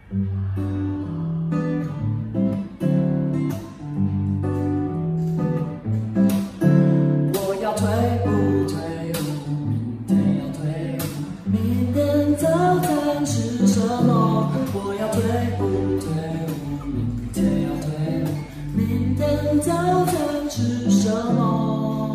我要退伍，退伍，明天要退伍。明天早餐吃什么？我要退伍，退伍，明天要退伍。明天早餐吃什么？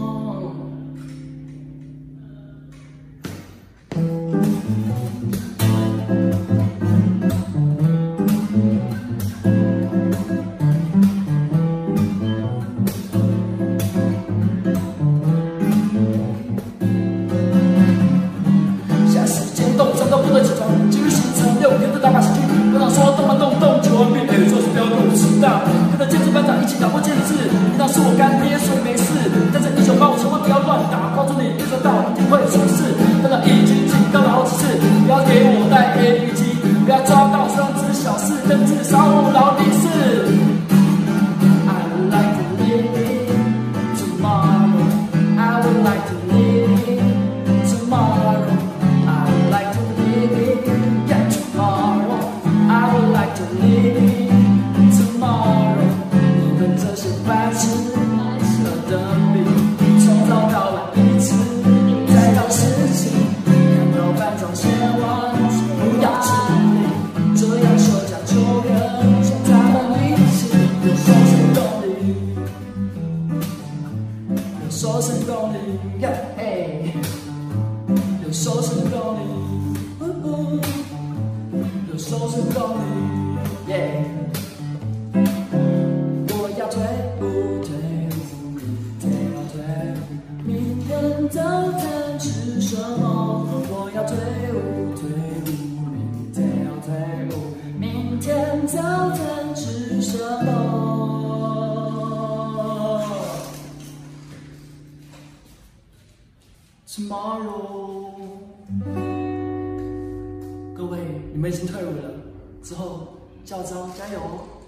都不能起床，今日行程6天的打靶行军。班长说动啊动动，9万遍做事不要跟我迟到。跟着建筑班长一起打破建制，领导是我干爹，所以没事。但是1985千万不要乱打，帮助你预测到一定会出事。班长已经警告了好几次，不要给我带 APG， 不要抓到3只小事，但至少我劳力士。I would like to live it tomorrow. I would like to live it tomorrow. To live tomorrow， 你们这些白痴和等比，从早到晚一次，再到事情，看到班长写完，不要吃力，这样说讲就跟他们一起，有收成动力，有收成动力，嘿，有收成动力，有收成动力。我要退伍，退伍，明天要退伍。明天早餐吃什么？我要退伍，退伍，明天要退伍。明天早餐吃什么 ？Tomorrow。各位，你们已经退伍了，之后教招加油哦！